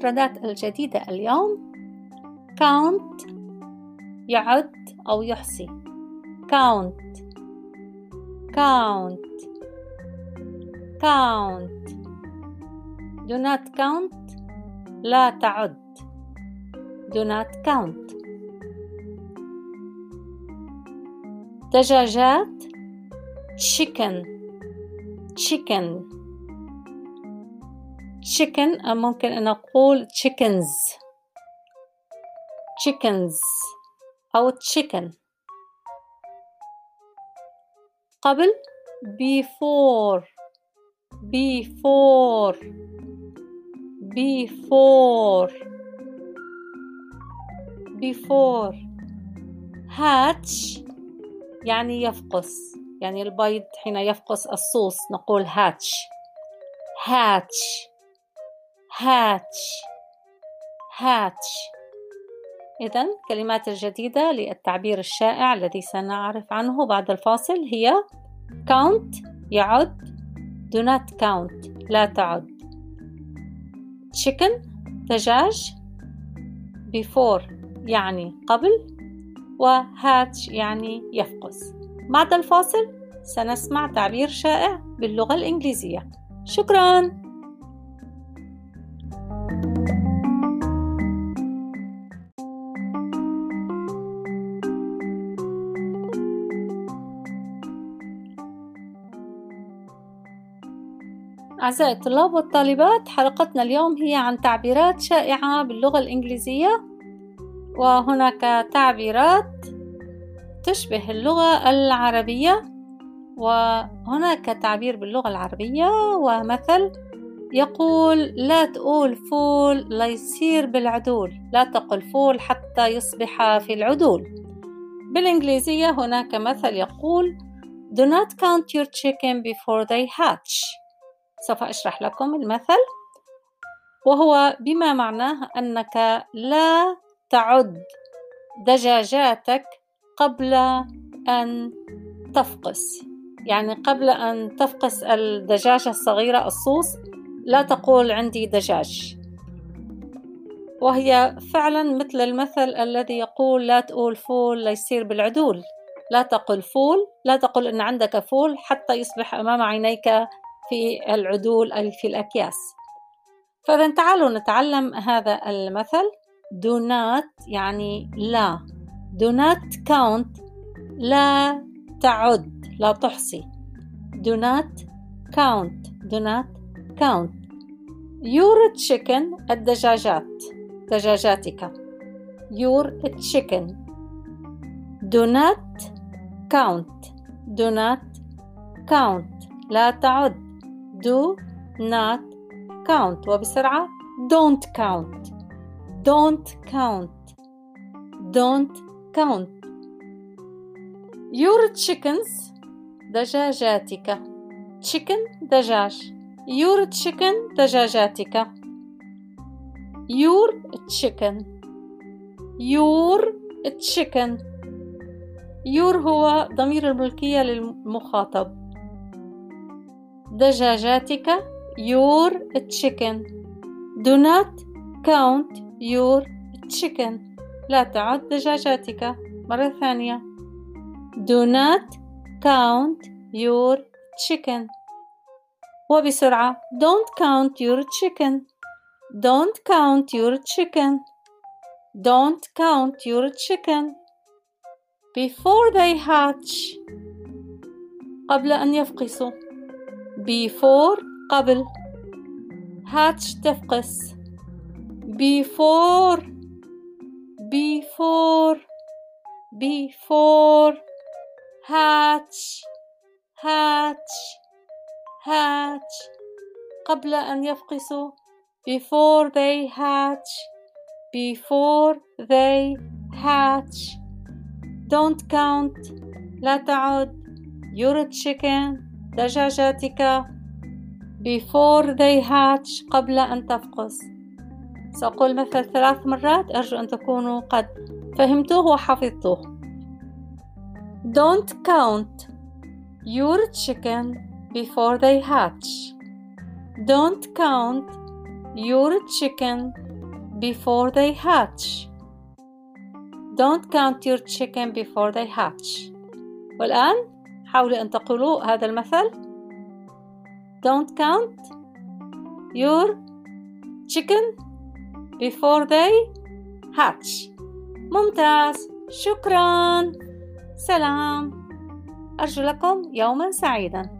المفردات الجديدة اليوم count يعد أو يحصي. count count count. do not count لا تعد. do not count. دجاجات chicken chicken chicken ممكن أن نقول chickens chickens أو chicken. قبل before before before before. hatch يعني يفقس، يعني البيض حين يفقس الصوص نقول hatch hatch hatch hatch. إذن الكلمات الجديدة للتعبير الشائع الذي سنعرف عنه بعد الفاصل هي count يعد، do not count لا تعد، chicken دجاج، before يعني قبل، وhatch يعني يفقس. بعد الفاصل سنسمع تعبير شائع باللغة الإنجليزية. شكراً. أعزائي الطلاب والطالبات، حلقتنا اليوم هي عن تعبيرات شائعة باللغة الإنجليزية، وهناك تعبيرات تشبه اللغة العربية، وهناك تعبير باللغة العربية ومثل يقول لا تقول فول لا يصير بالعدول، لا تقل فول حتى يصبح في العدول. بالإنجليزية هناك مثل يقول do not count your chicken before they hatch. سوف أشرح لكم المثل، وهو بما معناه أنك لا تعد دجاجاتك قبل أن تفقس، يعني قبل أن تفقس الدجاجة الصغيرة الصوص لا تقول عندي دجاج. وهي فعلا مثل المثل الذي يقول لا تقول فول لا يصير بالعدول، لا تقل فول، لا تقل إن عندك فول حتى يصبح أمام عينيك في العدول أي في الأكياس. فإذا تعالوا نتعلم هذا المثل. do not يعني لا، do not count لا تعد لا تحصي، do not count do not count your chicken الدجاجات دجاجاتك your chicken do not count do not count لا تعد do not count. وبسرعة don't count don't count don't count your chickens دجاجاتك chicken دجاج your chicken دجاجاتك your chicken your chicken your هو ضمير الملكية للمخاطب، دجاجاتك your chicken do not count your chicken لا تعد دجاجاتك. مرة ثانية do not count your chicken. وبسرعة don't count your chicken don't count your chicken don't count your chicken before they hatch قبل أن يفقسوا، before قبل، hatch تفقس، before before before hatch hatch hatch قبل أن يفقسوا، before they hatch before they hatch. don't count لا تعد your chicken دجاجاتك before they hatch قبل أن تفقس. سأقول مثل 3 مرات، أرجو أن تكونوا قد فهمتوه وحفظتوه. don't count your chicken before they hatch don't count your chicken before they hatch. Don't count your chicken before they hatch. والآن حاولوا أن تقولوا هذا المثل. Don't count your chicken before they hatch. ممتاز، شكراً، سلام، أرجو لكم يوماً سعيداً.